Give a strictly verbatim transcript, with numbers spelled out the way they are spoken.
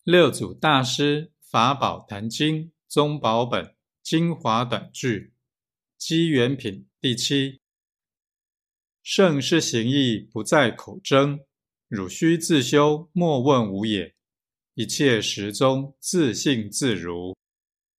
六祖大师法宝坛经宗宝本精华短句机缘品第七。圣是行义不在口争，汝须自修莫问无也，一切时中自信自如。